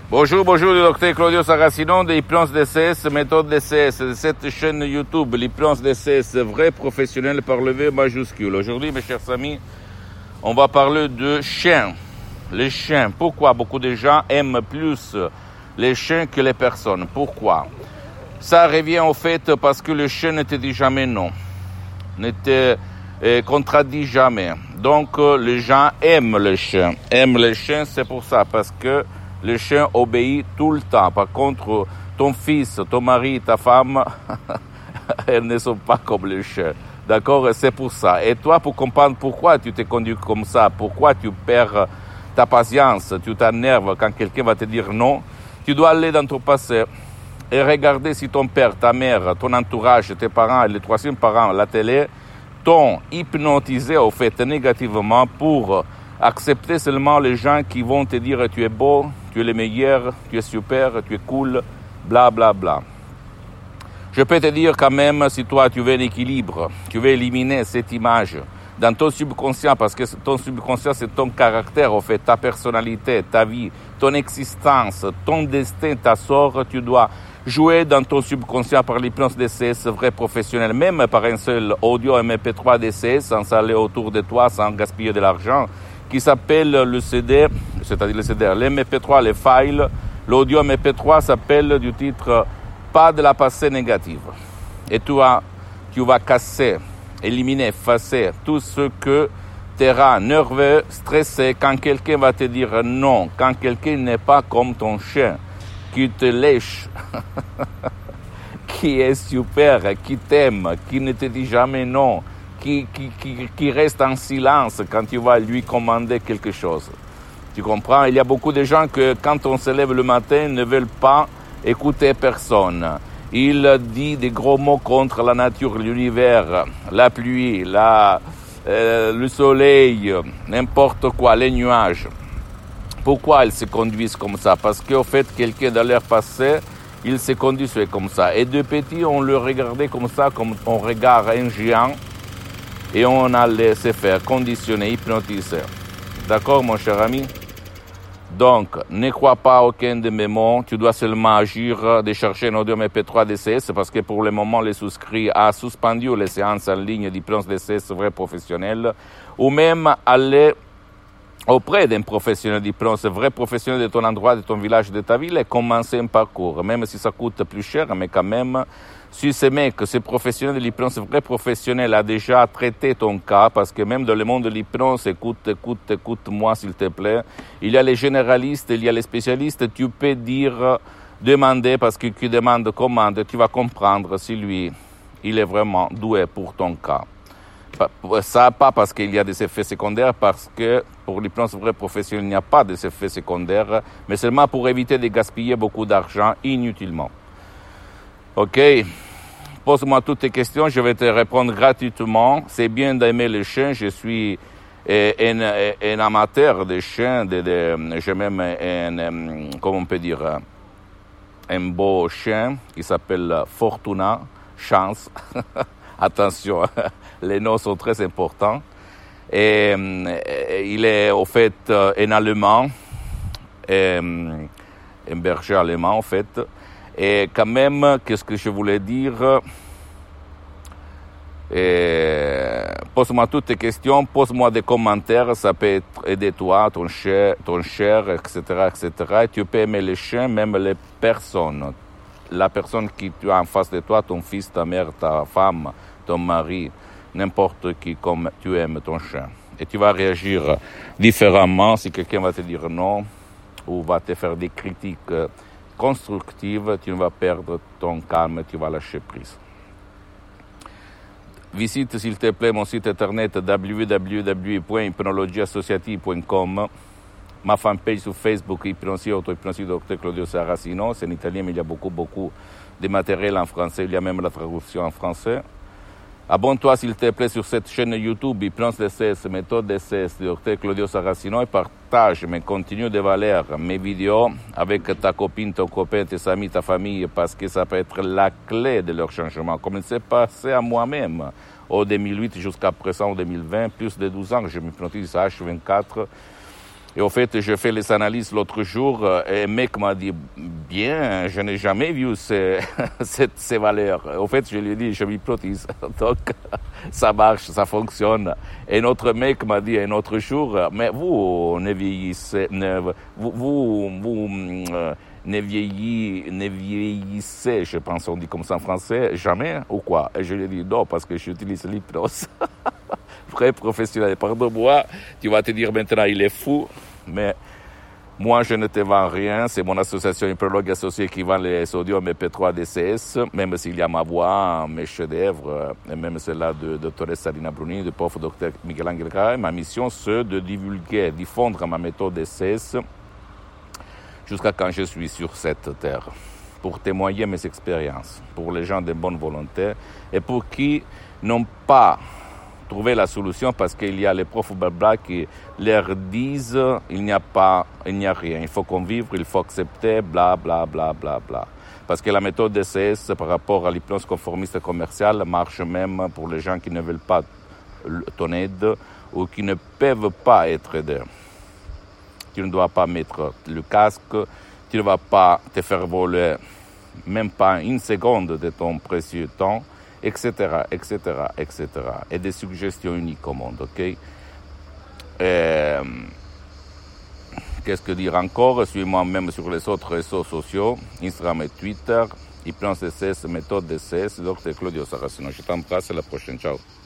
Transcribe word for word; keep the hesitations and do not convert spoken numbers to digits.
Bonjour, bonjour, le docteur Claudio Saracino de l'hypnose D C S, méthode D C S, de cette chaîne YouTube, l'hypnose D C S, vrai professionnel par le V majuscule. Aujourd'hui, mes chers amis, on va parler de chiens. Les chiens, pourquoi beaucoup de gens aiment plus les chiens que les personnes? Pourquoi? Ça revient au fait parce que le chien ne te dit jamais non, ne te euh, contradit jamais. Donc, euh, les gens aiment les chiens. Aiment les chiens, c'est pour ça, parce que le chien obéit tout le temps. Par contre, ton fils, ton mari, ta femme, elles ne sont pas comme le chien. D'accord? C'est pour ça. Et toi, pour comprendre pourquoi tu t'es conduit comme ça, pourquoi tu perds ta patience, tu t'énerves quand quelqu'un va te dire non, tu dois aller dans ton passé et regarder si ton père, ta mère, ton entourage, tes parents et les troisièmes parents, la télé, t'ont hypnotisé au fait négativement pour accepter seulement les gens qui vont te dire tu es beau, tu es le meilleur, tu es super, tu es cool, bla bla bla. Je peux te dire quand même, si toi tu veux un équilibre, tu veux éliminer cette image dans ton subconscient, parce que ton subconscient c'est ton caractère, au fait, ta personnalité, ta vie, ton existence, ton destin, ta sort, tu dois jouer dans ton subconscient par l'hypnose D C S vrai professionnel, même par un seul audio M P trois D C S, sans aller autour de toi, sans gaspiller de l'argent, qui s'appelle le C D, c'est-à-dire le C D, l'M P trois, les files, l'audio M P trois s'appelle du titre « Pas de la passé négative ». Et tu vas, tu vas casser, éliminer, effacer tout ce que te rend nerveux, stressé, quand quelqu'un va te dire non, quand quelqu'un n'est pas comme ton chien, qui te lèche, qui est super, qui t'aime, qui ne te dit jamais non, Qui, qui, qui, qui reste en silence quand tu vas lui commander quelque chose. Tu comprends? Il y a beaucoup de gens que quand on se lève le matin ne veulent pas écouter personne. Ils disent des gros mots contre la nature, l'univers, la pluie, la, euh, le soleil, n'importe quoi, les nuages. Pourquoi ils se conduisent comme ça? Parce qu'au fait, quelqu'un dans leur passé, il se conduisait comme ça. Et de petit, on le regardait comme ça, comme on regarde un géant. Et on allait se faire conditionner, hypnotiser. D'accord, mon cher ami? Donc, ne crois pas à aucun de mes mots. Tu dois seulement agir de chercher un audio M P trois D C S parce que pour le moment, les souscrits a suspendu les séances en ligne d'hypnose D C S vrai professionnel ou même aller auprès d'un professionnel d'hypnose vrai professionnel de ton endroit, de ton village, de ta ville et commencer un parcours. Même si ça coûte plus cher, mais quand même, si ce mec, ce professionnel de l'hypnose vrai professionnel a déjà traité ton cas, parce que même dans le monde de l'hypnose, écoute, écoute, écoute-moi s'il te plaît, il y a les généralistes, il y a les spécialistes, tu peux dire, demander, parce que qui demande commande, tu vas comprendre si lui, il est vraiment doué pour ton cas. Ça, pas parce qu'il y a des effets secondaires, parce que pour l'hypnose vrai professionnel, il n'y a pas d'effets secondaires, mais seulement pour éviter de gaspiller beaucoup d'argent inutilement. Ok? Pose-moi toutes tes questions, je vais te répondre gratuitement. C'est bien d'aimer les chiens, je suis un, un amateur des chiens, de, de, j'ai même un, comment on peut dire, un beau chien qui s'appelle Fortuna, chance. Attention, les noms sont très importants. Et, et il est au fait un Allemand, et, un berger allemand en fait. Et quand même, qu'est-ce que je voulais dire? Et pose-moi toutes tes questions, pose-moi des commentaires, ça peut aider toi, ton cher, ton cher, et cetera, et cetera. Et tu peux aimer les chiens, même les personnes. La personne qui tu as en face de toi, ton fils, ta mère, ta femme, ton mari, n'importe qui, comme tu aimes ton chien. Et tu vas réagir différemment si quelqu'un va te dire non ou va te faire des critiques constructives, tu ne vas perdre ton calme, tu vas lâcher prise. Visite s'il te plaît mon site internet w w w point hypnologie associative point com, ma fanpage sur Facebook, Hypnosie, Auto-Hypnosie, docteur Claudio Saracino, c'est en italien mais il y a beaucoup, beaucoup de matériel en français, il y a même la traduction en français. Abonne-toi s'il te plaît sur cette chaîne YouTube Hypnose D C S, méthode D C S, docteur Claudio Saracino et partage mes contenus de valeur, mes vidéos avec ta copine, ton copain, tes amis, ta famille parce que ça peut être la clé de leur changement. Comme il s'est passé à moi-même au deux mille huit jusqu'à présent, au deux mille vingt, plus de douze ans que je m'hypnotise à H vingt-quatre Et au fait, j'ai fait les analyses l'autre jour et un mec m'a dit, bien, je n'ai jamais vu ces, ces, ces valeurs. Au fait, je lui ai dit, je m'hypnotise. Donc, ça marche, ça fonctionne. Et un autre mec m'a dit un autre jour, mais vous ne vieillissez, ne, vous, vous, vous euh, ne, vieillis, ne vieillissez, je pense on dit comme ça en français, jamais ou quoi? Et je lui ai dit, non, parce que j'utilise l'hypnose. Vrai professionnel. Pardon-moi, tu vas te dire maintenant, il est fou, mais moi, je ne te vends rien. C'est mon association Hypnologue Associée qui vend les audios M P trois D C S, même s'il y a ma voix, mes chefs-d'œuvre, et même celle-là de Dr Salina Bruni, de prof Dr Miguel-Angel Garay. Ma mission, c'est de divulguer, diffondre ma méthode D C S jusqu'à quand je suis sur cette terre, pour témoigner mes expériences, pour les gens de bonne volonté, et pour qui n'ont pas trouver la solution parce qu'il y a les profs blabla qui leur disent il n'y a pas, il n'y a rien, il faut convivre, il faut accepter, bla bla bla bla bla. Parce que la méthode D C S par rapport à l'hypnose conformiste commerciale marche même pour les gens qui ne veulent pas ton aide ou qui ne peuvent pas être aidés. Tu ne dois pas mettre le casque, tu ne vas pas te faire voler même pas une seconde de ton précieux temps, et cetera, et cetera, et cetera. Et des suggestions uniques au monde, ok? Et, qu'est-ce que dire encore? Suis-moi même sur les autres réseaux sociaux, Instagram et Twitter, Hypnose D C S, méthode D C S, docteur Claudio Saracino. Je t'embrasse, à la prochaine, ciao.